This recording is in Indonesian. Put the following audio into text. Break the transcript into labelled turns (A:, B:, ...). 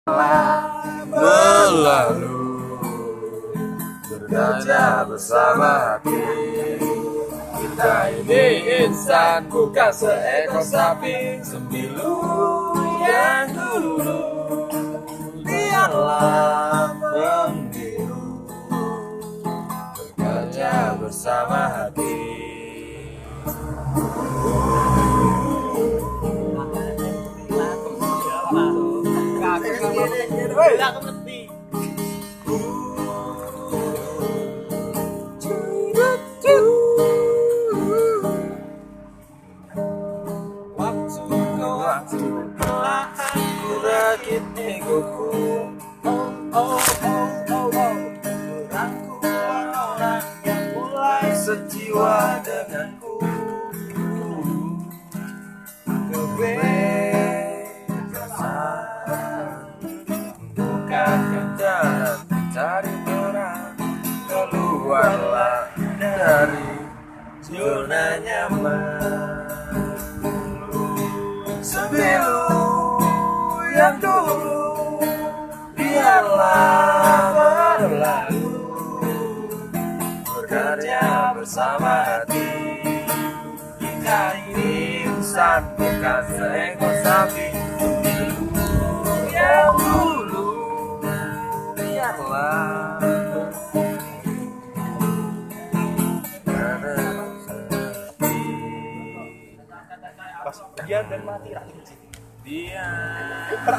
A: Berlalu berdaya bersama hati. Kita ini insan bukan seekor sapi. Sembilu yang dulu biarlah membiru, berdaya bersama hati. Waktu perlahan kurakit egoku. Rangkuman orang yang mulai sejiwa denganku. Bukankah jalan mencari terang, keluarlah dari zona nyaman. Sembilu yang dulu biarlah berlalu, berkarya bersama hati. Kita ini insan bukan seekor sapi. Yang dulu biarlah
B: Pas dia dan mati lagi.
A: dia